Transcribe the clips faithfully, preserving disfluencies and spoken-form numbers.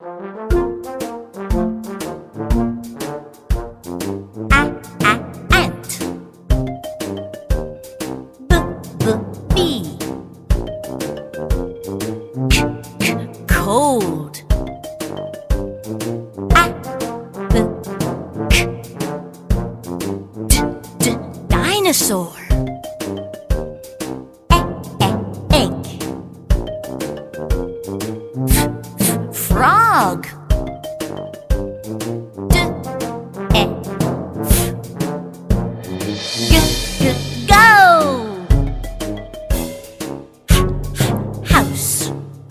Cold. A, b, k, d, d, dinosaur. E, e, egg. F, f, frog. D, e, f. G, g, go. H, house.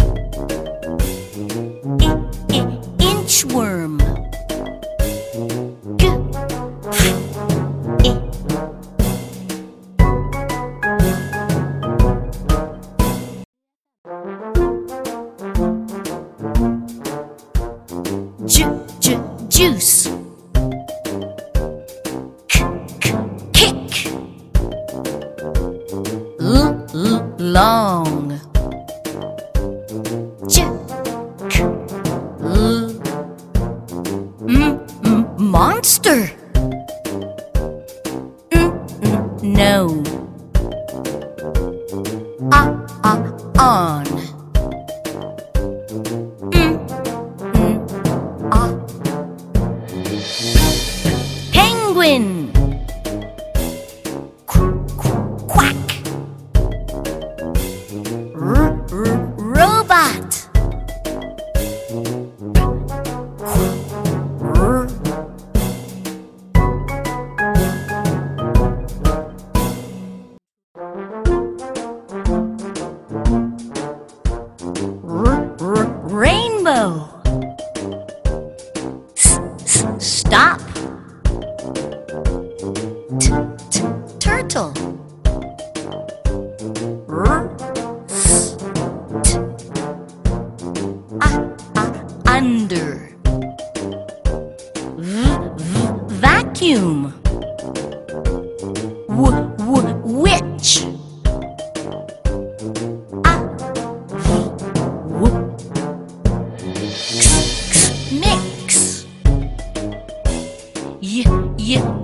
Inchworm. G, h, i. Ju, ju, juice. K, k, kick. L, l, long. J, k, l. M, m, monster. N, n, no. A, a, on. M, n, a. Penguin. Qu, qu, quack. R, r, robot. R, R, r, rainbow. S, s, stop. T, t, turtle. R, s, t. A, a, under. V, v, vacuum. W, w, witch. A, v, w. X, x, mix. Y, y,